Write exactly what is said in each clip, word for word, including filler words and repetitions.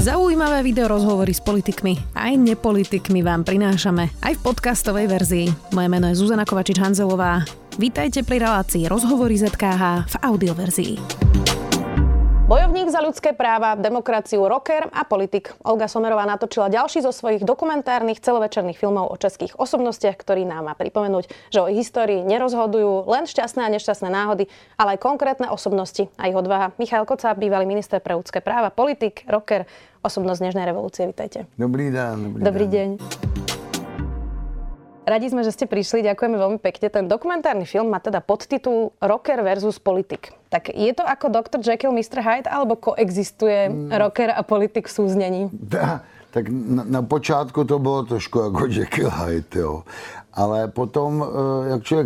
Zaujímavé video rozhovory s politikmi aj nepolitikmi vám prinášame aj v podcastovej verzii. Moje meno je Zuzana Kovačič-Hanzelová. Vítajte pri relácii Rozhovory zet ká há v audioverzii. Bojovník za ľudské práva, demokraciu, rocker a politik. Olga Sommerová natočila ďalší zo svojich dokumentárnych celovečerných filmov o českých osobnostiach, ktorí nám má pripomenúť, že o ich histórii nerozhodujú len šťastné a nešťastné náhody, ale aj konkrétne osobnosti a ich odvaha. Michail Kocáb, bývalý minister pre ľudské práva, politik, rocker, osobnosť dnešnej revolúcie. Vítajte. Dobrý deň. Dobrý, Dobrý deň. Radi sme, že ste prišli, ďakujeme veľmi pekne. Ten dokumentárny film má teda podtitul Rocker versus politik. Tak je to ako doktor Jekyll, mister Hyde, alebo koexistuje mm. rocker a politik v súznení? Da, tak na, na počátku to bylo trošku jako Jekyll Hyde, jo. Ale potom, jak člověk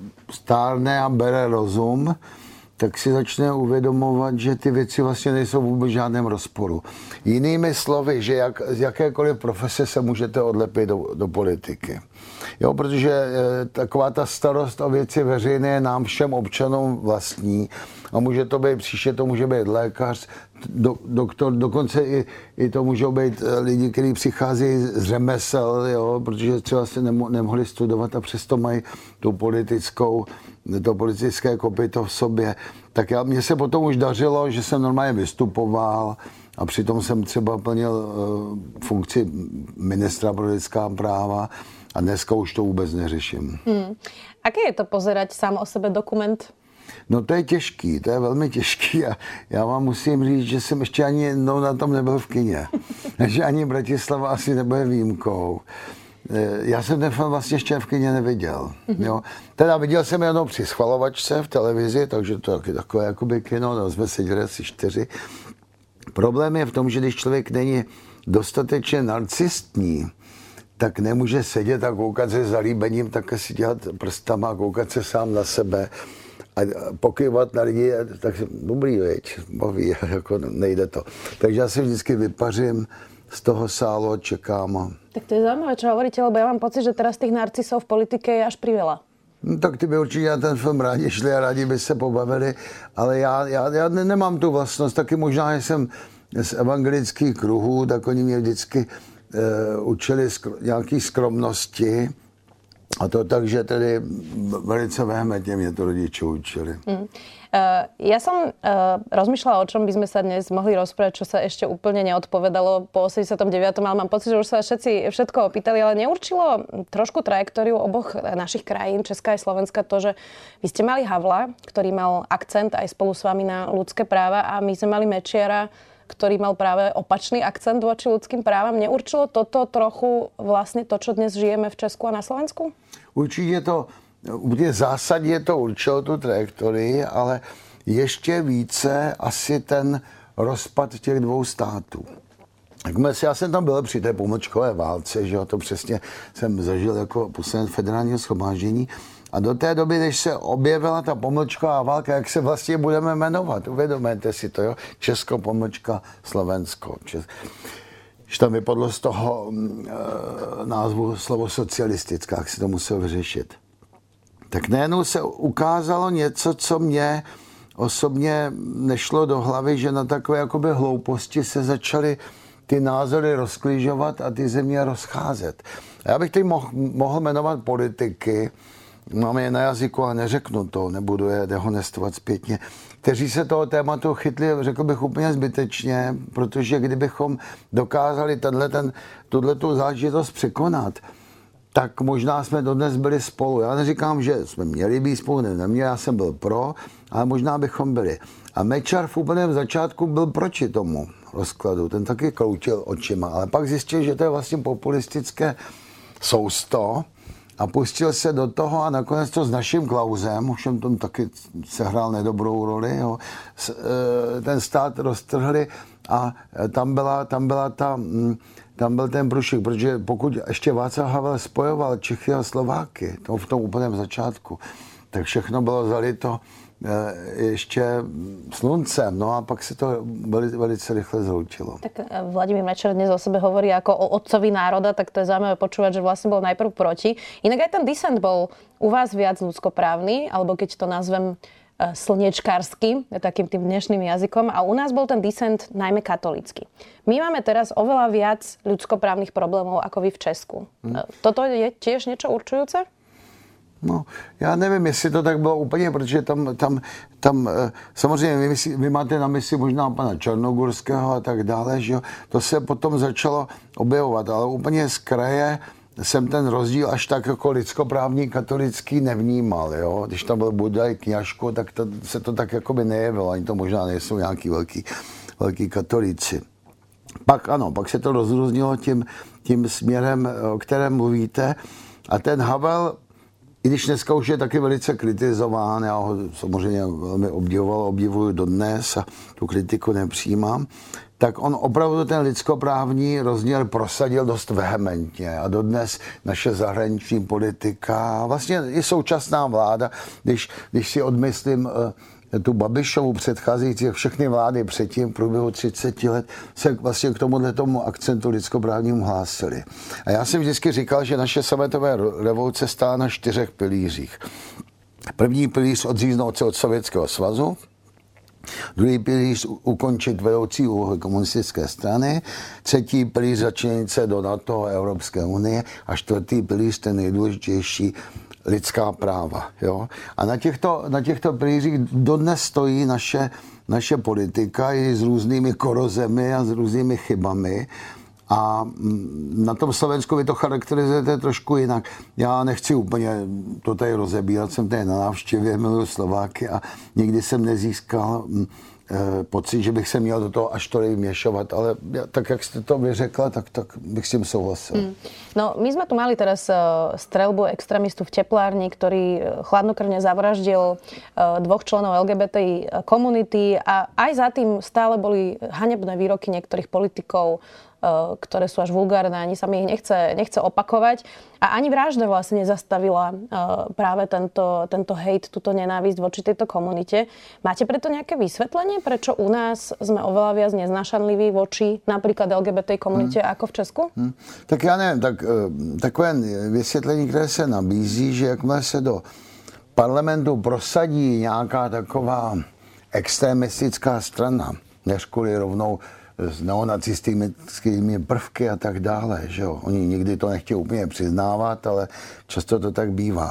stárne a bere rozum, tak si začne uvědomovat, že ty věci vlastně nejsou vůbec v žádném rozporu. Jinými slovy, že jak, z jakékoliv profese se můžete odlepit do, do politiky. Jo, protože e, taková ta starost o věci veřejné je nám všem občanům vlastní. A může to být, příště to může být lékař, do, doktor, dokonce i, i to můžou být lidi, kteří přicházejí z řemesel, jo, protože třeba se nemo, nemohli studovat a přesto mají tu politickou, to politické kopyto v sobě. Tak já, mně se potom už dařilo, že jsem normálně vystupoval a přitom jsem třeba plnil uh, funkci ministra pro lidská práva a dneska už to vůbec neřeším. Hmm. Aké je to pozerať sám o sebe dokument? No to je těžký, to je velmi těžký a já vám musím říct, že jsem ještě ani jednou na tom nebyl v kině. Takže ani Bratislava asi nebude výjimkou. Já jsem ten film vlastně ještě v kině neviděl. Mm-hmm. Jo. Teda viděl jsem jenom při schvalovačce v televizi, takže to je takové jakoby kino, no jsme seděli asi čtyři. Problém je v tom, že když člověk není dostatečně narcistní, tak nemůže sedět a koukat se zalíbením, tak si dělat prstama a koukat se sám na sebe a pokyvat na lidi, tak dobrý, veď, baví, jako nejde to. Takže já si vždycky vypařím z toho sálu a čekám. Tak to je zaujímavé, čo hovoríte, lebo ja mám pocit, že teraz tých narcisov v politike je až priveľa. No, tak ty by určitě na ten film rádi šli a rádi by se pobavili, ale já, já, já nemám tu vlastnost, taky možná, že jsem z evangelických kruhů, tak oni mě vždycky e, učili skr- nějaký skromnosti. A to tak, že tedy velice vehementne mě to rodiče učili. Mm. Uh, ja som uh, rozmýšľala, o čom by sme sa dnes mohli rozprávať, čo sa ešte úplne neodpovedalo po osemdesiatom deviatom ale mám pocit, že už sa všetci všetko opýtali, ale neurčilo trošku trajektóriu oboch našich krajín, Česká a Slovenska, to, že vy ste mali Havla, ktorý mal akcent aj spolu s vami na ľudské práva a my sme mali Mečiara, ktorý mal práve opačný akcent voči ľudským právam. Neurčilo toto trochu vlastne to, čo dnes žijeme v Česku a na Slovensku? Určitě to, v zásadě to určilo tu trajektorii, ale ještě více asi ten rozpad těch dvou států. Já jsem tam byl při té pomlčkové válce, že jo, to přesně jsem zažil jako poslanec federálního shromáždění. A do té doby, než se objevila ta pomlčková válka, jak se vlastně budeme jmenovat, uvědomujete si to, jo? Česko, pomlčka, Slovensko. Čes... Že tam vypadlo z toho e, názvu slovo socialistická, jak se to muselo vyřešit. Tak najednou se ukázalo něco, co mě osobně nešlo do hlavy, že na takové jakoby hlouposti se začaly ty názory rozklížovat a ty země rozcházet. A já bych teď mohl, mohl jmenovat politiky, máme je na jazyku, ale neřeknu to, nebudu je dehonestovat zpětně, kteří se toho tématu chytli, řekl bych úplně zbytečně, protože kdybychom dokázali tenhle, ten, tuhletu záležitost překonat, tak možná jsme dodnes byli spolu. Já neříkám, že jsme měli být spolu, ne, neměli, já jsem byl pro, ale možná bychom byli. A Mečiar v úplném začátku byl proti tomu rozkladu, ten taky kroutil očima, ale pak zjistil, že to je vlastně populistické sousto, a pustil se do toho a nakonec to s naším Klausem, už tom taky sehrál nedobrou roli, jo, ten stát roztrhli a tam byla, tam byla ta, tam byl ten průšvih, protože pokud ještě Václav Havel spojoval Čechy a Slováky, to v tom úplném začátku, tak všechno bylo zalito ještě sluncem, no a pak se to veli, velice rychle zhroutilo. Tak Vladimír Mečiar dnes o sebe hovorí ako o otcovi národa, tak to je zaujímavé počúvať, že vlastne bol najprv proti. Inak aj ten disent bol u vás viac ľudskoprávny, alebo keď to nazvem slnečkársky, takým tým dnešným jazykom, a u nás bol ten disent najmä katolícky. My máme teraz oveľa viac ľudskoprávnych problémov ako vy v Česku. Hmm. Toto je tiež niečo určujúce? No, já nevím, jestli to tak bylo úplně, protože tam, tam, tam samozřejmě vy, vy máte na mysli možná pana Černogorského a tak dále, že jo, to se potom začalo objevovat, ale úplně z kraje jsem ten rozdíl až tak jako lidskoprávní katolický nevnímal, jo. Když tam byl Budaj, Kňažko, tak to, se to tak jako by nejevilo, ani to možná nejsou nějaký velký, velký katolíci. Pak ano, pak se to rozrůznilo tím, tím směrem, o kterém mluvíte, a ten Havel, i když dneska už je taky velice kritizován, já ho samozřejmě velmi obdivoval, obdivuju dodnes a tu kritiku nepřijímám, tak on opravdu ten lidskoprávní rozměr prosadil dost vehementně a dodnes naše zahraniční politika, vlastně i současná vláda, když, když si odmyslím tu Babišovu předcházející, všechny vlády předtím v průběhu třicet let se vlastně k tomuhle tomu akcentu lidskoprávnímu hlásili. A já jsem vždycky říkal, že naše sametové revoluce stála na čtyřech pilířích. První pilíř odříznout se od Sovětského svazu, druhý pilíř ukončit vedoucí úlohy komunistické strany, třetí pilíř začlenit se do NATO a Evropské unie a čtvrtý pilíř, ten nejdůležitější, lidská práva. Jo? A na těchto, na těchto pilířích dodnes stojí naše, naše politika i s různými korozemi a s různými chybami. A na tom Slovensku vy to charakterizujete trošku jinak. Já nechci úplně to tady rozebírat, jsem tady na návštěvě, miluji Slováky a nikdy jsem nezískal e, pocit, že bych se měl do toho až tolik vměšovat, ale ja, tak, jak jste to vyřekla, tak, tak bych s tím souhlasil. Mm. No, my sme tu mali teraz uh, streľbu extrémistu v teplárni, ktorý chladnokrvne zavraždil uh, dvoch členov el gé bé té komunity, a aj za tým stále boli hanebné výroky niektorých politikov, ktoré sú až vulgárne, ani sa mi ich nechce, nechce opakovať. A ani vražda vlastne nezastavila práve tento, tento hejt, túto nenávisť voči tejto komunite. Máte preto nejaké vysvetlenie, prečo u nás sme oveľa viac neznášanliví voči napríklad el gé bé té komunite hmm. ako v Česku? Hmm. Tak já nevím, tak, takové vysvětlení, které se nabízí, že jakmile se do parlamentu prosadí nějaká taková extremistická strana, než kvůli rovnou s neonacistickými prvky a tak dále, že jo. Oni nikdy to nechtějí úplně přiznávat, ale často to tak bývá.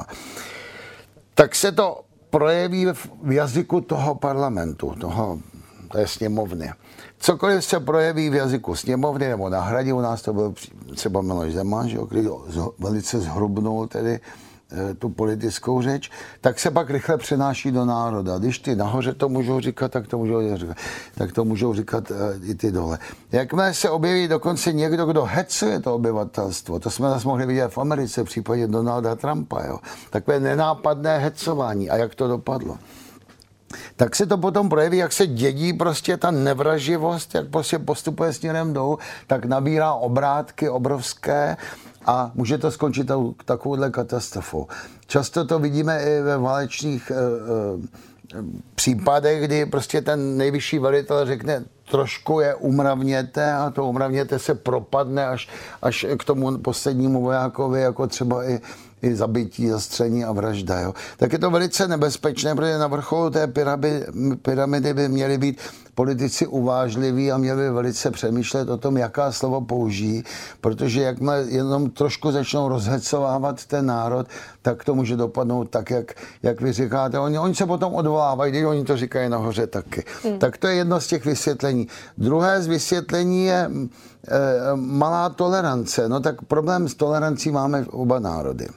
Tak se to projeví v jazyku toho parlamentu, toho, té sněmovny. Cokoliv se projeví v jazyku sněmovny nebo na hradě, u nás to byl třeba Miloš Zeman, že jo, který velice zhrubnul tedy tu politickou řeč, tak se pak rychle přenáší do národa. Když ty nahoře to můžou říkat, tak to můžou říkat, tak to můžou říkat i ty dole. Jakmile se objeví dokonce někdo, kdo hecuje to obyvatelstvo, to jsme zase mohli vidět v Americe v případě Donalda Trumpa, jo. Takové nenápadné hecování. A jak to dopadlo? Tak se to potom projeví, jak se dědí prostě ta nevraživost, jak prostě postupuje směrem dolů, tak nabírá obrátky obrovské a může to skončit takovouhle katastrofou. Často to vidíme i ve válečných e, e, případech, kdy prostě ten nejvyšší velitel řekne, trošku je umravněte a to umravněte se propadne až, až k tomu poslednímu vojákovi, jako třeba i i zabití, zastření a vražda. Jo. Tak je to velice nebezpečné, protože na vrcholu té pyramidy, pyramidy by měli být politici uvážliví a měli by velice přemýšlet o tom, jaká slovo použijí, protože jakmile jenom trošku začnou rozhecovávat ten národ, tak to může dopadnout tak, jak, jak vy říkáte. Oni, oni se potom odvolávají, když oni to říkají nahoře taky. Hmm. Tak to je jedno z těch vysvětlení. Druhé z vysvětlení je e, malá tolerance. No tak problém s tolerancí máme oba národy.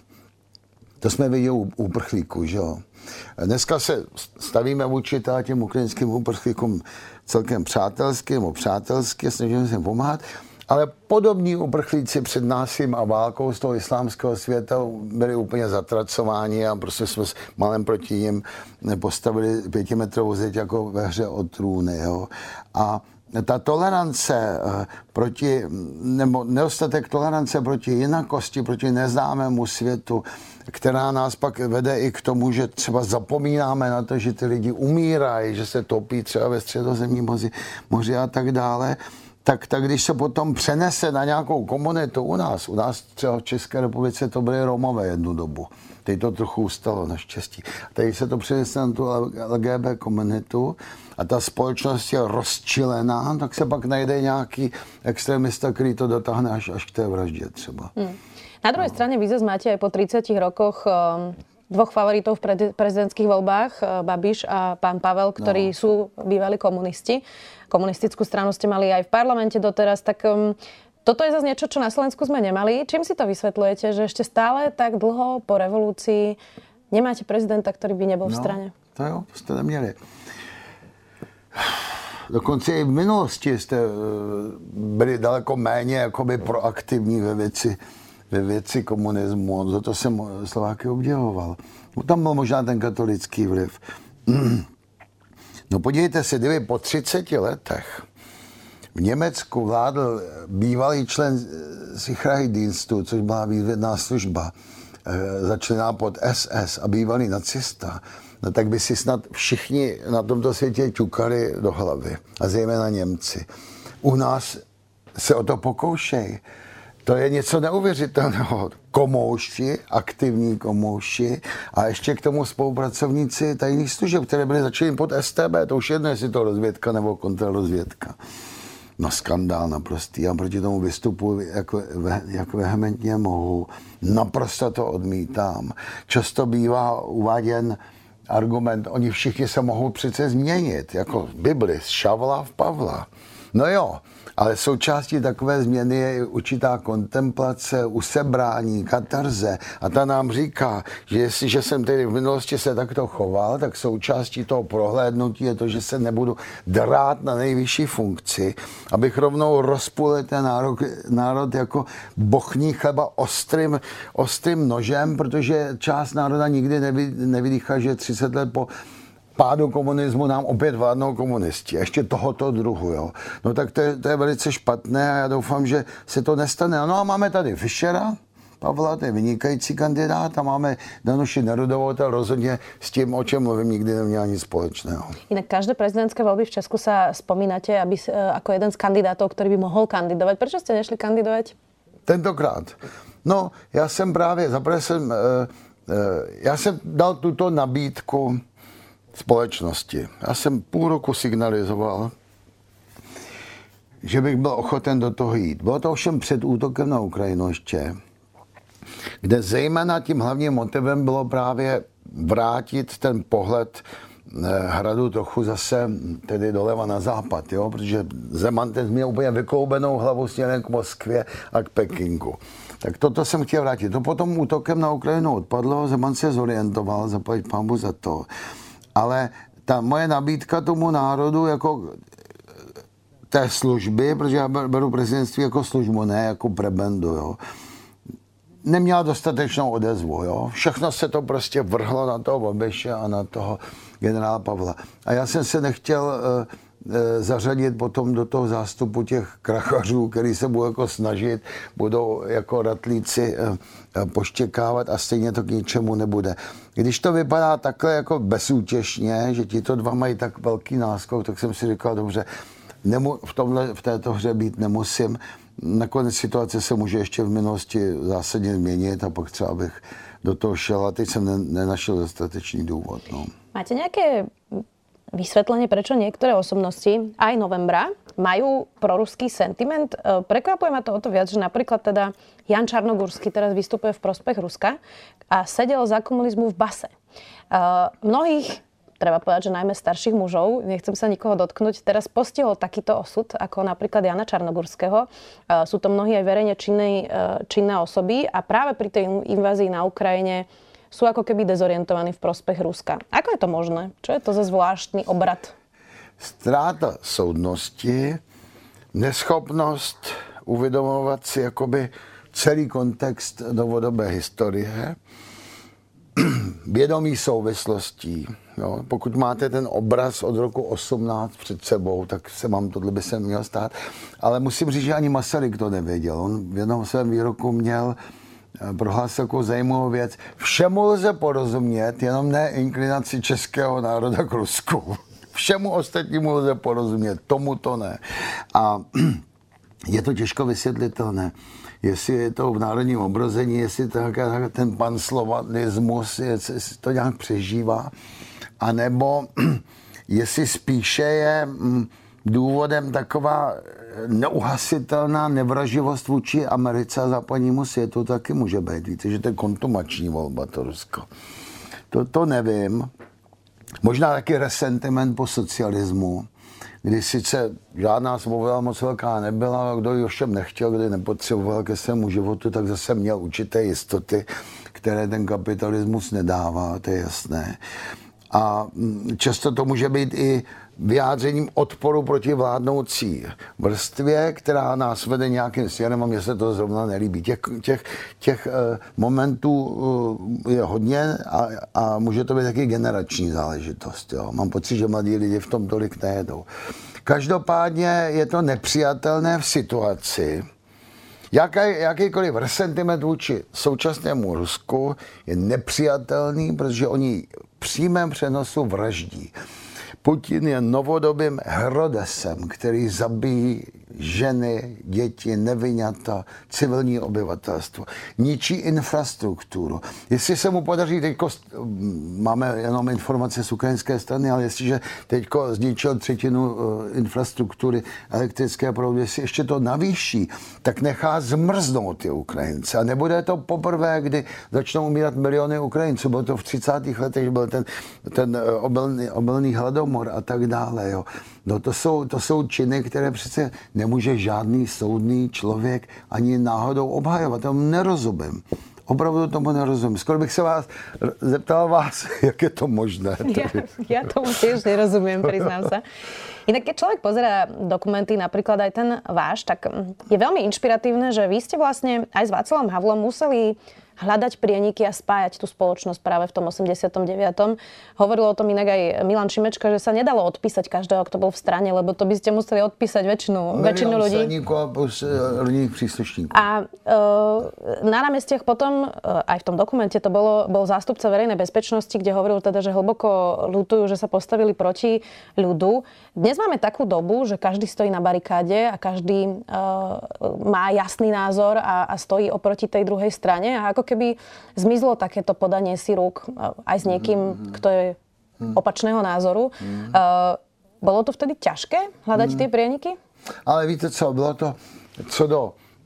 To jsme viděli u uprchlíků, že jo. Dneska se stavíme vůči těm ukrajinským uprchlíkům celkem přátelsky, nebo přátelsky, snažíme se jim pomáhat, ale podobní uprchlíci před násilím a válkou z toho islámského světa byli úplně zatracováni a prostě jsme s malem proti nim postavili pětimetrovou zeď jako ve hře o trůny, jo. A ta tolerance proti, nebo nedostatek tolerance proti jinakosti, proti neznámému světu, která nás pak vede i k tomu, že třeba zapomínáme na to, že ty lidi umírají, že se topí třeba ve středozemním moři, moři a tak dále, tak, tak když se potom přenese na nějakou komunitu u nás, u nás třeba v České republice to byly Romové jednu dobu. Teď to trochu ustalo naštěstí. Teď se to přenese na tu L G B komunitu a ta společnost je rozčilená, tak se pak najde nějaký extrémista, který to dotáhne až, až k té vraždě třeba. Hmm. Na druhej no. strane vy zase máte aj po tridsiatich rokoch um, dvoch favoritov v pre- prezidentských voľbách, uh, Babiš a pán Pavel, ktorí no. sú bývalí komunisti. Komunistickú stranu ste mali aj v parlamente doteraz, tak um, toto je zase niečo, čo na Slovensku sme nemali. Čím si to vysvetľujete, že ešte stále tak dlho po revolúcii nemáte prezidenta, ktorý by nebol no, v strane? To jo, to jste neměli. Dokonce i v minulosti jste byli daleko méně jakoby proaktivní ve věci, ve věci komunismu. Za to jsem Slováky obdivoval. Tam byl možná ten katolický vliv. No podívejte se, kdyby po třiceti letech v Německu vládl bývalý člen Sicherheitsdienstu, což byla výzvědná služba, začlená pod S S a bývalý nacista, no tak by si snad všichni na tomto světě ťukali do hlavy. A zejména Němci. U nás se o to pokoušej. To je něco neuvěřitelného. Komouši, aktivní komouši a ještě k tomu spolupracovníci tajných služeb, které byly začleny pod S T B. To už jedno, jestli to rozvědka nebo kontrarozvědka. No skandál naprostý. Já proti tomu vystupuji, jak, jak vehementně mohu. Naprosto to odmítám. Často bývá uváděn argument, oni všichni se mohou přece změnit, jako v Bibli, z Šavla v Pavla. No jo, ale součástí takové změny je i určitá kontemplace, usebrání, katarze. A ta nám říká, že jestliže jsem tedy v minulosti se takto choval, tak součástí toho prohlédnutí je to, že se nebudu drát na nejvyšší funkci, abych rovnou rozpůlil ten národ, národ jako bochní chleba ostrým, ostrým nožem, protože část národa nikdy nevy, nevydýchá, že třicet let po pádu komunismu nám opět vládnou komunisti. Ještě tohoto druhu, jo. No tak to je, to je velice špatné a já doufám, že se to nestane. No a máme tady Fischera, Pavla, to je vynikající kandidát a máme Danuši Nerudovou, to rozhodně s tím, o čem mluvím, nikdy neměla nic společného. Inak každé prezidentské voľby v Česku sa spomínate aby, ako jeden z kandidátov, ktorý by mohol kandidovať. Prečo ste nešli kandidovať? Tentokrát. No, já jsem právě, zaprvé jsem, uh, uh, já jsem dal tuto nabídku společnosti. Já jsem půl roku signalizoval, že bych byl ochoten do toho jít. Bylo to ovšem před útokem na Ukrajinu ještě, kde zejména tím hlavním motivem bylo právě vrátit ten pohled hradu trochu zase tedy doleva na západ, jo? Protože Zeman ten měl úplně vykloubenou hlavu směrem k Moskvě a k Pekingu. Tak toto jsem chtěl vrátit. To potom útokem na Ukrajinu odpadlo, Zeman se zorientoval, zaplať pánbu za to. Ale ta moje nabídka tomu národu jako té služby, protože já beru prezidentství jako službu, ne jako prebendu, jo, neměla dostatečnou odezvu. Jo. Všechno se to prostě vrhlo na toho Babiše a na toho generála Pavla. A já jsem se nechtěl uh, uh, zařadit potom do toho zástupu těch krachařů, který se budou jako snažit, budou jako ratlíci uh, uh, poštěkávat a stejně to k ničemu nebude. Když to vypadá takhle jako bezútěšně, že tito dva mají tak velký náskok, tak jsem si říkal, dobře, nemu, v, tomhle, v této hře být nemusím. Nakonec situace se může ještě v minulosti zásadně změnit a pak třeba bych do toho šel a teď jsem ne, nenašel dostatečný důvod. No. Máte nějaké vysvetlenie, prečo niektoré osobnosti aj novembra majú proruský sentiment? Prekvapuje ma to o to viac, že napríklad teda Jan Čarnogurský teraz vystupuje v prospech Ruska a sedel za komunizmu v base. Uh, mnohých, treba povedať, že najmä starších mužov, nechcem sa nikoho dotknúť, teraz postihol takýto osud, ako napríklad Jana Čarnogurského. Uh, sú to mnohí aj verejne činné, uh, činné osoby a práve pri tej invázii na Ukrajine sú ako keby dezorientovaní v prospech Ruska. Ako je to možné? Čo je to za zvláštny obrad? Ztráta soudnosti, neschopnost uvědomovat si jakoby celý kontext novodobé historie, vědomí souvislostí. Jo. Pokud máte ten obraz od roku osmnáct před sebou, tak se vám tohle by se mělo stát. Ale musím říct, že ani Masaryk to nevěděl. On v jednom svém výroku měl prohlásil takovou zajímavou věc. Všemu lze porozumět, jenom ne inklinaci českého národa k Rusku. Všemu ostatnímu lze porozumět, tomu to ne. A je to těžko vysvětlitelné. Jestli je to v národním obrození, jestli to, ten panslovanismus, jestli to nějak přežívá, anebo jestli spíše je důvodem taková neuhasitelná nevraživost vůči Americe a západnímu světu, taky může být. Víte, že to je kontumační volba, to Rusko. To, to nevím. Možná taky resentiment po socialismu, kdy sice žádná svoboda moc velká nebyla, kdo ji ovšem nechtěl, kdy nepotřeboval ke svému životu, tak zase měl určité jistoty, které ten kapitalismus nedává, to je jasné. A často to může být i vyjádřením odporu proti vládnoucí vrstvě, která nás vede nějakým směrem a mně se to zrovna nelíbí. Těch, těch, těch momentů je hodně a, a může to být taky generační záležitost. Jo. Mám pocit, že mladí lidi v tom tolik nejedou. Každopádně je to nepřijatelné v situaci, Jaký, jakýkoliv resentiment vůči současnému Rusku je nepřijatelný, protože oni v přímém přenosu vraždí. Putin je novodobým Herodesem, který zabíjí ženy, děti, neviňata, civilní obyvatelstvo. Ničí infrastrukturu. Jestli se mu podaří, teďko, máme jenom informace z ukrajinské strany, ale jestliže teďko zničil třetinu infrastruktury elektrické proudy, jestli ještě to navýší, tak nechá zmrznout ty Ukrajince. A nebude to poprvé, kdy začnou umírat miliony Ukrajinců. Bylo to v třicátých letech, byl ten, ten obilný, obilný hladomor a tak dále. Jo. No to jsou, to jsou činy, které přece nemůže žádný soudný člověk ani náhodou obhajovat. Tomu nerozumím. Opravdu tomu nerozumím. Skoro bych se vás zeptal vás, jak je to možné. Ja, ja tomu tiež nerozumiem, priznám sa. Inak keď človek pozerá dokumenty, napríklad aj ten váš, tak je veľmi inšpiratívne, že vy ste vlastne aj s Václavom Havlom museli hľadať prieniky a spájať tú spoločnosť práve v tom osemdesiatom deviatom Hovoril o tom inak aj Milan Šimečka, že sa nedalo odpísať každého, kto bol v strane, lebo to by ste museli odpísať väčšinu, väčšinu ľudí. Straníkov a rodinných príslušníkov. A e, na námestiach potom, e, aj v tom dokumente to bolo, bol zástupca verejnej bezpečnosti, kde hovoril teda, že hlboko ľutujú, že sa postavili proti ľudu. Dnes máme takú dobu, že každý stojí na barikáde a každý e, má jasný názor a, a stojí oproti tej druhej strane. A ako keby zmizlo takéto podanie si rúk aj s niekým, mm-hmm. kto je opačného názoru. Mm-hmm. Uh, bolo to vtedy ťažké hľadať mm-hmm. tie prieniky? Ale víte co, bylo to, co do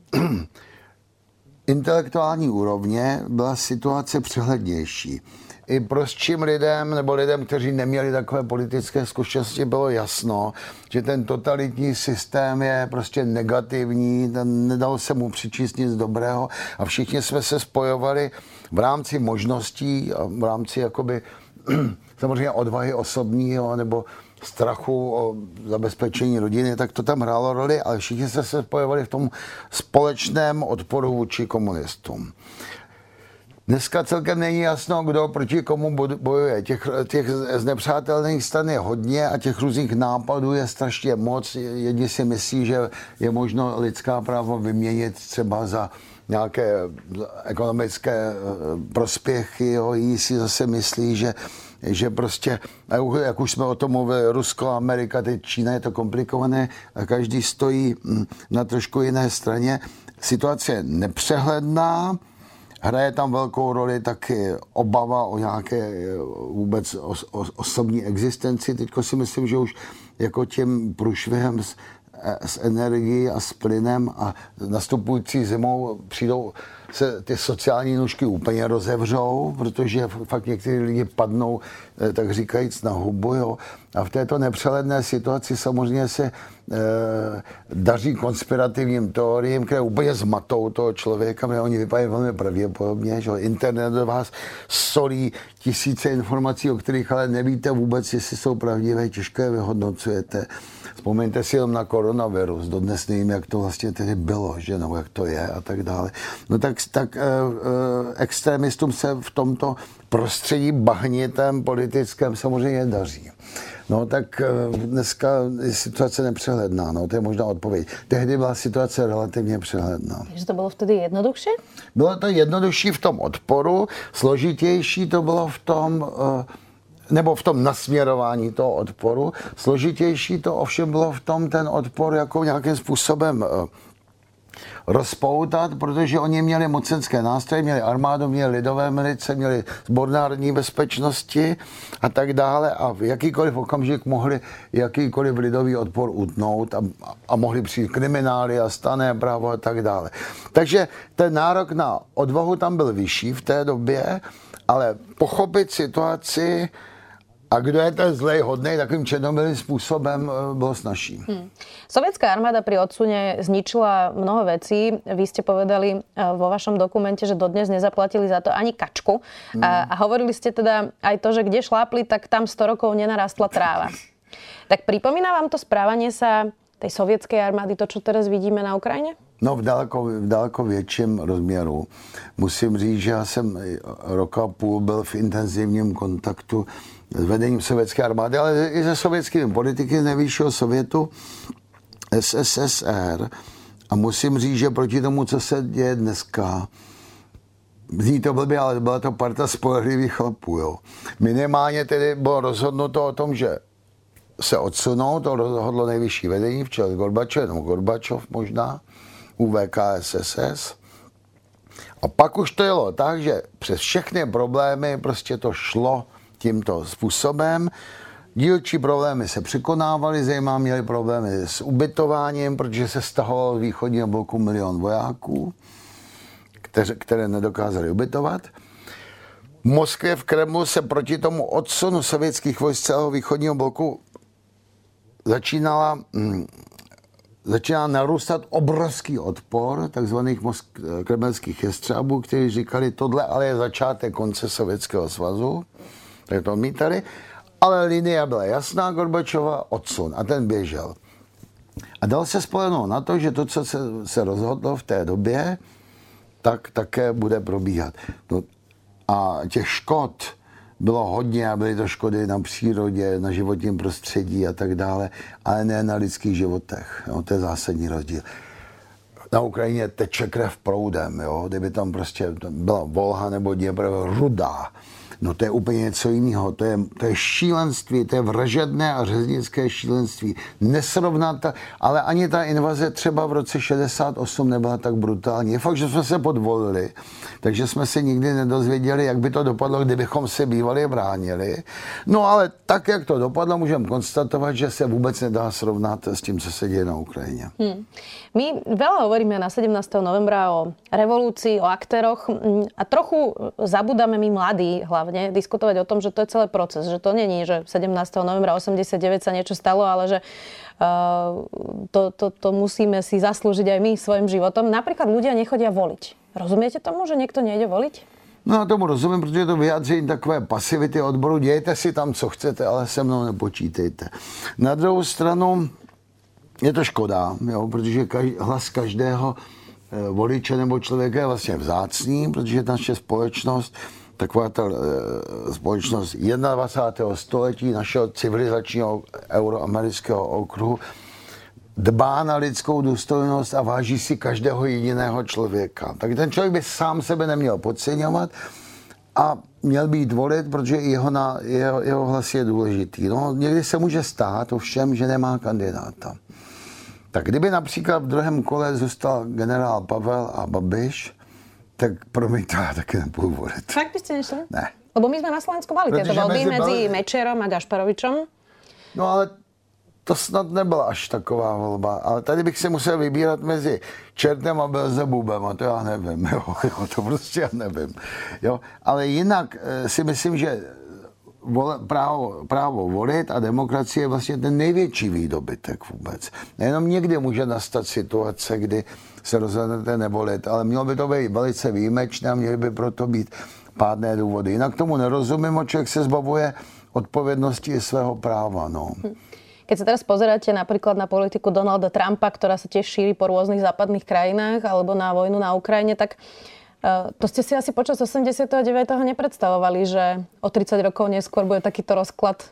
intelektuální úrovně byla situace přehlednější. I prostším lidem, nebo lidem, kteří neměli takové politické zkušenosti, bylo jasno, že ten totalitní systém je prostě negativní, ten nedalo se mu přičíst nic dobrého a všichni jsme se spojovali v rámci možností, v rámci jakoby samozřejmě odvahy osobního nebo strachu o zabezpečení rodiny, tak to tam hrálo roli, ale všichni jsme se spojovali v tom společném odporu vůči komunistům. Dneska celkem není jasno, kdo proti komu bojuje. Těch, těch znepřátelných stran je hodně a těch různých nápadů je strašně moc. Jedni si myslí, že je možno lidská práva vyměnit třeba za nějaké ekonomické prospěchy. Jo. Jiní si zase myslí, že, že prostě, jak už jsme o tom mluvili, Rusko, Amerika, teď Čína, je to komplikované a každý stojí na trošku jiné straně. Situace je nepřehledná. Hraje tam velkou roli taky obava o nějaké vůbec osobní existenci. Teďko si myslím, že už jako tím průšvihem s, s energií a s plynem a nastupující zimou přijdou se ty sociální nůžky úplně rozevřou, protože fakt někteří lidi padnou, tak říkajíc, na hubu. Jo. A v této nepřehledné situaci samozřejmě se e, daří konspirativním teoriím, které úplně zmatou toho člověka, protože oni vypadají velmi pravděpodobně, že internet do vás solí tisíce informací, o kterých ale nevíte vůbec, jestli jsou pravdivé, těžko je vyhodnocujete. Vzpomeňte si jenom na koronavirus, dodnes nevím, jak to vlastně tedy bylo, že, nebo jak to je a tak dále. No tak, tak e, e, extremistům se v tomto prostředí bahnitem politickém samozřejmě daří. No tak dneska je situace nepřehledná, no to je možná odpověď. Tehdy byla situace relativně přehledná. Takže to bylo vtedy jednodušší? Bylo to jednodušší v tom odporu, složitější to bylo v tom nebo v tom nasměrování toho odporu. Složitější to ovšem bylo v tom ten odpor jako nějakým způsobem rozpoutat, protože oni měli mocenské nástroje, měli armádu, měli lidové milice, měli sbor národní bezpečnosti a tak dále a v jakýkoliv okamžik mohli jakýkoliv lidový odpor utnout a, a mohli přijít kriminály a stanné právo a tak dále. Takže ten nárok na odvahu tam byl vyšší v té době, ale pochopit situaci a kdo je ten zlej hodnej, takým černobilým způsobem bylo snažší. Hmm. Sovietská armáda pri odsune zničila mnoho vecí. Vy ste povedali vo vašom dokumente, že dodnes nezaplatili za to ani kačku. Hmm. A, a hovorili ste teda aj to, že kde šlápli, tak tam sto rokov nenarastla tráva. Tak pripomína vám to správanie sa tej sovětské armády, to, čo teraz vidíme na Ukrajině? No v daleko, v daleko větším rozměru. Musím říct, že já jsem rok a půl byl v intenzivním kontaktu s vedením sovětské armády, ale i se sovětskými politiky z nejvyššího sovětu S S S R. A musím říct, že proti tomu, co se děje dneska, zní to blbě, ale byla to parta spolehlivých chlapů. Jo. Minimálně tedy bylo rozhodnuto o tom, že se odsunou, to rozhodlo nejvyšší vedení v čele Gorbačov, nebo Gorbačov možná, U V K S S S. A pak už to jelo tak, že přes všechny problémy prostě to šlo tímto způsobem. Dílčí problémy se překonávaly, zejména měli problémy s ubytováním, protože se stahovalo z východního bloku milion vojáků, které, které nedokázali ubytovat. V Moskvě, v Kremlu se proti tomu odsunu sovětských vojsk celého východního bloku začínala, hm, začínala narůstat obrovský odpor takzvaných mosk- kremelských jestřábů, kteří říkali, tohle ale je začátek konce Sovětského svazu, tak to odmítali, ale linie byla jasná, Gorbačova, odsun a ten běžel. A dal se spolehnout na to, že to, co se, se rozhodlo v té době, tak také bude probíhat. No, a těch škod bylo hodně a byly to škody na přírodě, na životním prostředí a tak dále, ale ne na lidských životech. Jo, to je zásadní rozdíl. Na Ukrajině teče krev proudem, jo, kdyby tam prostě byla Volha nebo Dněpr, rudá. No to je úplně něco jiného. To je, to je šílenství, to je vražedné a řeznické šílenství. Nesrovnata, ale ani ta invaze třeba v roce šedesát osm nebyla tak brutální. Je fakt, že jsme se podvolili, takže jsme se nikdy nedozvěděli, jak by to dopadlo, kdybychom se bývali bránili. No ale tak, jak to dopadlo, můžeme konstatovat, že se vůbec nedá srovnat s tím, co se děje na Ukrajině. Hmm. My veľa hovoríme na sedemnásteho novembra o revolúcii, o aktéroch a trochu zabudáme my mladí hlavne diskutovať o tom, že to je celý proces, že to není, že sedemnásteho novembra osemdesiatdeväť sa niečo stalo, ale že uh, to, to, to musíme si zaslúžiť aj my svojim životom. Napríklad ľudia nechodia voliť. Rozumiete tomu, že niekto nejde voliť? No já tomu rozumím, protože je to vyjádření takové pasivity odboru. Dějte si tam, co chcete, ale se mnou nepočítejte. Na druhou stranu je to škoda, jo, protože každý, hlas každého e, voliče nebo člověka je vlastně vzácný, protože naše společnost, taková ta e, společnost dvacátého prvního století, našeho civilizačního euroamerického okruhu, dbá na lidskou důstojnost a váží si každého jediného člověka. Tak ten člověk by sám sebe neměl podceňovat a měl být volit, protože jeho, na, jeho, jeho hlas je důležitý. No, někdy se může stát ovšem, že nemá kandidáta. Tak kdyby například v druhém kole zůstal generál Pavel a Babiš, tak promiňte, já taky nepůjdu volit. Tak byste nešli? Ne. Lebo my jsme na Slovensku mali tieto voľby medzi Mečerom a Gašparovičom. No ale to snad nebyla až taková volba. Ale tady bych se musel vybírat mezi Čertem a Belzebubem a to já nevím. Jo, jo, to prostě já nevím. Jo, ale jinak si myslím, že Vole, právo, právo volit a demokracie je vlastně ten největší výdobytek vůbec. Nejenom někdy může nastat situace, kdy se rozhodnete nevolit, ale mělo by to být velice výjimečné a měly by proto být pádné důvody. Jinak tomu nerozumím, o člověk se zbavuje odpovědnosti i svého práva. No. Keď sa teraz pozeráte napríklad na politiku Donalda Trumpa, ktorá sa tiež šíri po rôznych západných krajinách, alebo na vojnu na Ukrajine, tak to ste si asi počas osemdesiateho deviateho nepredstavovali, že o tridsať rokov neskôr bude takýto rozklad?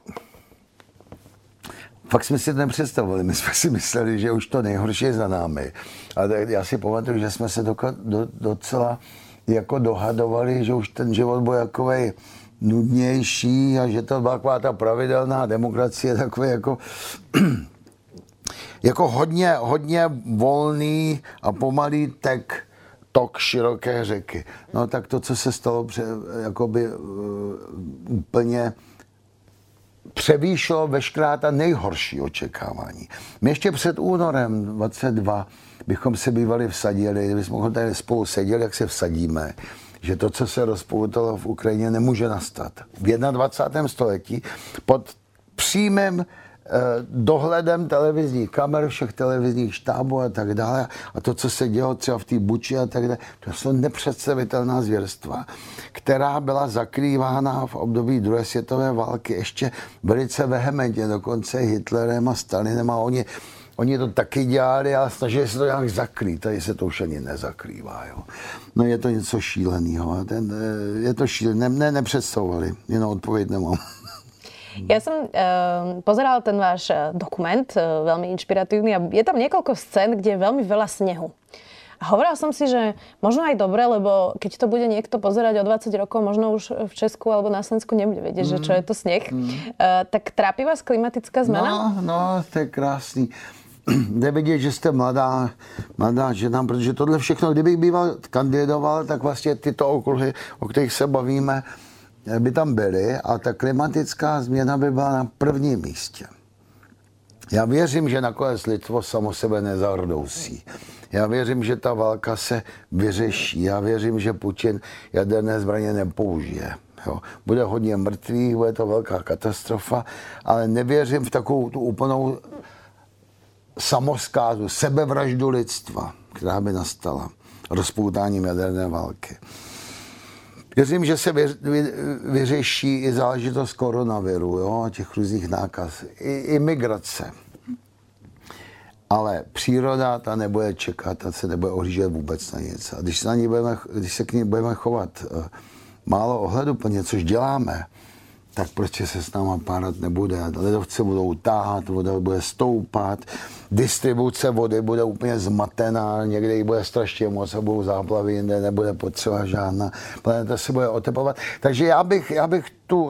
Fakt jsme si to nepředstavovali. My jsme si mysleli, že už to nejhorší je za námi. Ale já si pamatuju, že jsme se doka- do, docela jako dohadovali, že už ten život byl jakovej nudnější a že to byla taková ta pravidelná demokracie, takové jako, jako hodně, hodně volný a pomalý tek, tok široké řeky. No tak to, co se stalo, pře, jakoby uh, úplně převýšilo veškerá ta nejhorší očekávání. My ještě před únorem dvacet dva bychom se bývali vsadili, kdybychom tady spolu seděli, jak se vsadíme, že to, co se rozpoutalo v Ukrajině, nemůže nastat. V dvacátém prvním století pod přímým eh, dohledem televizních kamer, všech televizních štábů a tak dále. A to, co se dělo třeba v té Buči a tak dále, to jsou nepředstavitelná zvěrstva, která byla zakrývána v období druhé světové války ještě velice vehementně, dokonce Hitlerem a Stalinem a oni Oni to taky dělali, ale snažili se to nějak zakrýt. Tady se to už ani nezakrývá. Jo. No je to něco šíleného. Ten, je to šílené. Ne, nepředstavovali. Jenom odpověď nemám. Ja som uh, pozerala ten váš dokument, uh, veľmi inšpiratívny a je tam niekoľko scén, kde je veľmi veľa snehu. A hovorila som si, že možno aj dobre, lebo keď to bude niekto pozerať o dvadsať rokov, možno už v Česku alebo na Slovensku nebude vedieť, mm. že čo je to sneh. Mm. Uh, tak trápi vás klimatická zmena? No, no, to je krásný. Jde vidět, že jste mladá, mladá žena, protože tohle všechno, kdybych býval kandidoval, tak vlastně tyto okruhy, o kterých se bavíme, by tam byly a ta klimatická změna by byla na prvním místě. Já věřím, že nakonec lidstvo samo sebe nezardousí. Já věřím, že ta válka se vyřeší. Já věřím, že Putin jaderné zbraně nepoužije. Jo. Bude hodně mrtvých, bude to velká katastrofa, ale nevěřím v takovou tu úplnou samoskázu, sebevraždu lidstva, která by nastala rozpoutáním jaderné války. Věřím, že se vyřeší i záležitost koronaviru, jo, a těch různých nákaz, i imigrace. Ale příroda ta nebude čekat, ta se nebude ohlížet vůbec na nic. A když se, na ní budeme, když se k ní budeme chovat uh, málo ohleduplně, což děláme, tak prostě se s náma párat nebude. Ledovce budou táhat, voda bude stoupat, distribuce vody bude úplně zmatená, někde jí bude strašně moc a budou záplavy, jinde nebude potřeba žádná. Planeta se bude oteplovat. Takže já bych, já bych tu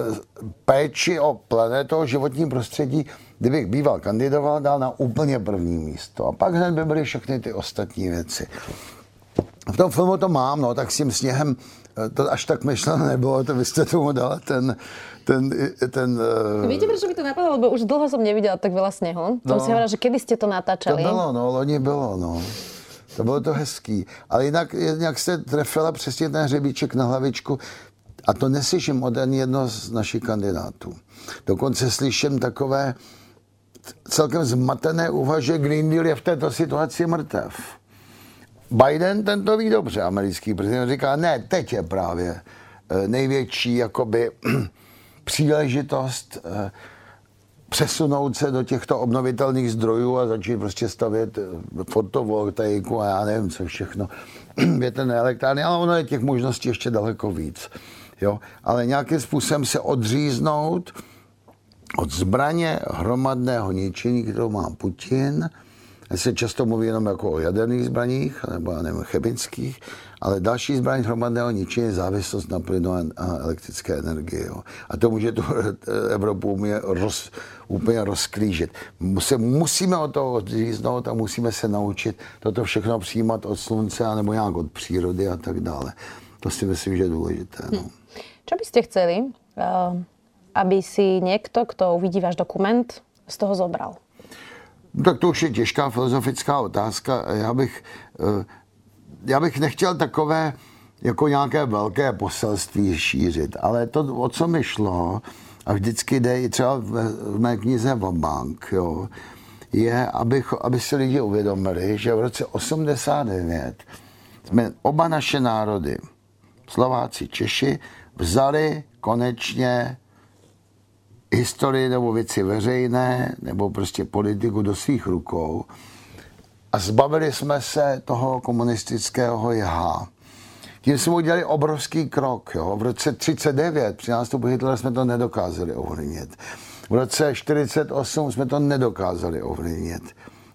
péči o planetu, o životní prostředí, kdybych býval kandidoval, dal na úplně první místo. A pak hned by byly všechny ty ostatní věci. V tom filmu to mám, no, tak s tím sněhem to až tak myšlené nebylo, to vy jste tomu dala ten... ten, ten uh... Víte, prečo by to napadlo? Lebo už dlho som nevidela tak veľa snehu. Som no, si hovorila, že kedy ste to natáčali. To bylo, no, loni bylo, no. To bylo to hezký. Ale jinak, jinak jste trefila přesně ten hřebíček na hlavičku a to neslyším od ani jedno z našich kandidátů. Dokonce slyším takové celkem zmatené úvahy, že Green Deal je v této situaci mrtev. Biden, ten to ví dobře, americký prezident, říká, ne, teď je právě největší jakoby příležitost přesunout se do těchto obnovitelných zdrojů a začít prostě stavět fotovoltaiku a já nevím, co všechno, větrné elektrárny, ale ono je těch možností ještě daleko víc. Jo? Ale nějakým způsobem se odříznout od zbraně hromadného ničení, kterou má Putin. Se často mluví jenom jako o jaderných zbraních, nebo já nevím, chemických, ale další zbraň hromadného ničení je závislost na plynu a elektrické energie. Jo. A to může tu Evropu úplně, roz, úplně rozklížit. Se musíme od toho odříznout a musíme se naučit toto všechno přijímat od slunce nebo nějak od přírody a tak dále. To si myslím, že je důležité. No. Hm. Čo by ste chceli, aby si niekto, kto uvidí váš dokument, z toho zobral? Tak to už je těžká filozofická otázka. Já bych, já bych nechtěl takové jako nějaké velké poselství šířit, ale to, o co mi šlo, a vždycky jde i třeba v mé knize Vabank, jo, je, aby, aby si lidi uvědomili, že v roce osmdesát devět jsme oba naše národy, Slováci, Češi, vzali konečně historii nebo věci veřejné, nebo prostě politiku do svých rukou a zbavili jsme se toho komunistického jha. Tím jsme udělali obrovský krok. Jo. V roce třicet devět při nástupu Hitlera jsme to nedokázali ovlivnit. V roce čtyřicet osm jsme to nedokázali ovlivnit.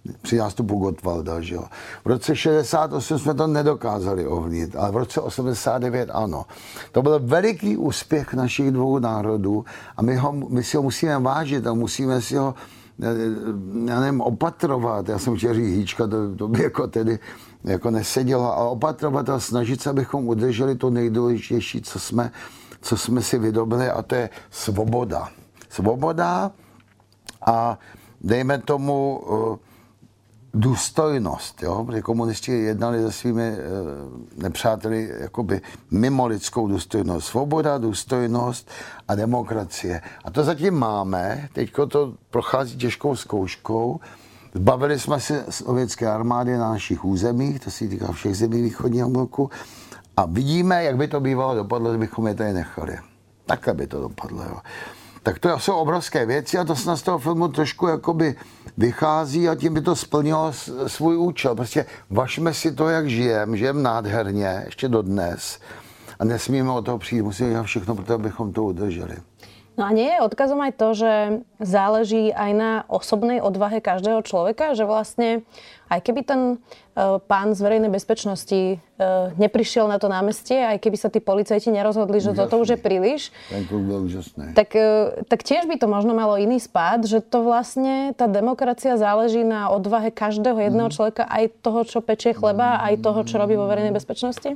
při nástupu Gottwalda. Že jo. V roce šedesát osm jsme to nedokázali ovlivnit, ale v roce osmdesát devět ano. To byl veliký úspěch našich dvou národů a my, ho, my si ho musíme vážit a musíme si ho já nevím, opatrovat. Já jsem chtěl říct hýčka, to, to by jako tedy jako nesedělo, ale opatrovat a snažit se, abychom udrželi to nejdůležitější, co jsme, co jsme si vydobili, a to je svoboda. Svoboda a dejme tomu důstojnost, jo? Protože komunisti jednali se svými nepřáteli jakoby mimo lidskou důstojnost. Svoboda, důstojnost a demokracie. A to zatím máme, teďko to prochází těžkou zkouškou. Zbavili jsme se sovětské armády na našich územích, to se týká všech zemí východního bloku, a vidíme, jak by to bývalo dopadlo, kdybychom je tady nechali. Takhle by to dopadlo, jo. Tak to jsou obrovské věci a to se z toho filmu trošku jakoby vychází a tím by to splnilo svůj účel. Prostě važme si to, jak žijeme, žijeme nádherně, ještě dodnes a nesmíme od toho přijít, musíme dělat všechno pro to, abychom to udrželi. No a nie je odkazom aj to, že záleží aj na osobnej odvahe každého človeka, že vlastne aj keby ten uh, pán z verejnej bezpečnosti uh, neprišiel na to námestie, aj keby sa tí policajti nerozhodli, že úžasný. Toto už je príliš, tak, uh, tak tiež by to možno malo iný spád, že to vlastne tá demokracia záleží na odvahe každého jedného mm. človeka, aj toho, čo pečie chleba, aj toho, čo robí vo verejnej bezpečnosti?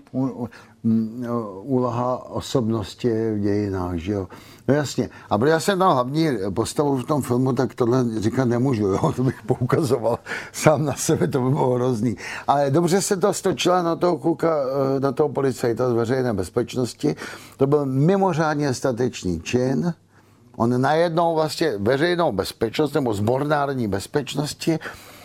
Úloha osobnosti v dějinách, že jo. No jasně. A protože já jsem tam hlavní postavu v tom filmu, tak tohle říkat nemůžu, jo. To bych poukazoval sám na sebe, to by bylo hrozný. Ale dobře se to stočila na toho kluka, na toho policajta z veřejné bezpečnosti. To byl mimořádně statečný čin. On najednou vlastně veřejnou bezpečnost nebo sbornárodní bezpečnosti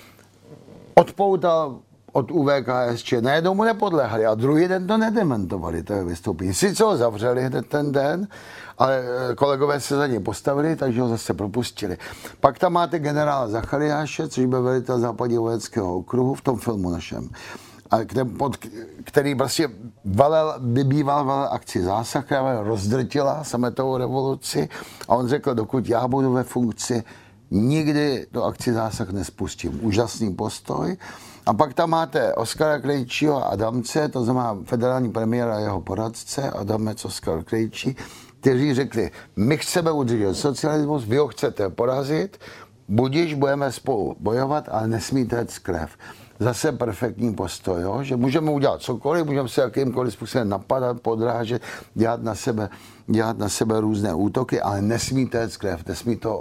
odpoutal od U V K S Č. Najednou mu nepodléhali a druhý den to nedementovali, to je vystoupení. Sice ho zavřeli hned ten den, ale kolegové se za ně postavili, takže ho zase propustili. Pak tam máte generála Zachariáše, což byl velitel západního vojenského okruhu v tom filmu našem, a pod, který vlastně valel, vybýval valel akci Zásah, která rozdrtila sametovou revoluci, a on řekl, dokud já budu ve funkci, nikdy do akci Zásah nespustím. Úžasný postoj. A pak tam máte Oskara Krejčího a Adamce, to znamená federální premiéra a jeho poradce, Adamec, Oskar Krejčí, kteří řekli, my chceme udržet socialismus, vy ho chcete porazit, budiž budeme spolu bojovat, ale nesmíte jet krev. Zase perfektní postoj, jo? Že můžeme udělat cokoliv, můžeme se jakýmkoliv způsobem napadat, podrážet, dělat na sebe, dělat na sebe různé útoky, ale nesmíte jet krev, nesmí to,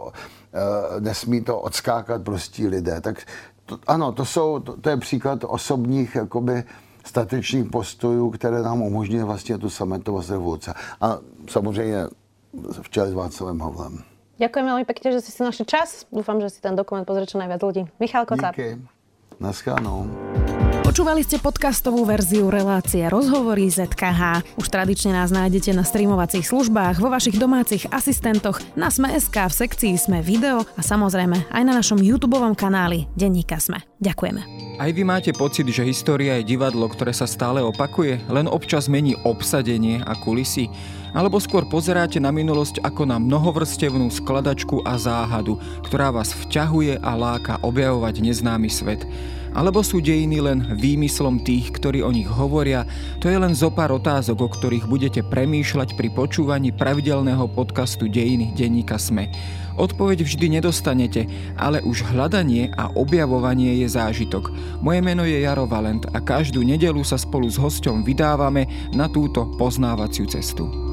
uh, nesmí to odskákat prostí lidé. Tak to, ano, to, jsou, to, to je příklad osobních jakoby statečných postojů, které nám umožňují vlastně tu sametovou revoluce. A samozřejmě v čele s Václavem Havlem. Ďakujem veľmi pekne, že si si našli čas. Dúfam, že si ten dokument pozrie čo najviac ľudí. Michal Kocáb. Díky. Naschledanou. Počúvali ste podcastovú verziu relácie Rozhovory zet ká há. Už tradične nás nájdete na streamovacích službách, vo vašich domácich asistentoch, na Sme bodka es ká, v sekcii Sme video a samozrejme aj na našom YouTubeovom kanáli Denníka Sme. Ďakujeme. Aj vy máte pocit, že história je divadlo, ktoré sa stále opakuje, len občas mení obsadenie a kulisy? Alebo skôr pozeráte na minulosť ako na mnohovrstevnú skladačku a záhadu, ktorá vás vťahuje a láka objavovať neznámy svet? Alebo sú dejiny len výmyslom tých, ktorí o nich hovoria? To je len zopár otázok, o ktorých budete premýšľať pri počúvaní pravidelného podcastu Dejiny denníka Sme. Odpoveď vždy nedostanete, ale už hľadanie a objavovanie je zážitok. Moje meno je Jaro Valent a každú nedeľu sa spolu s hosťom vydávame na túto poznávaciu cestu.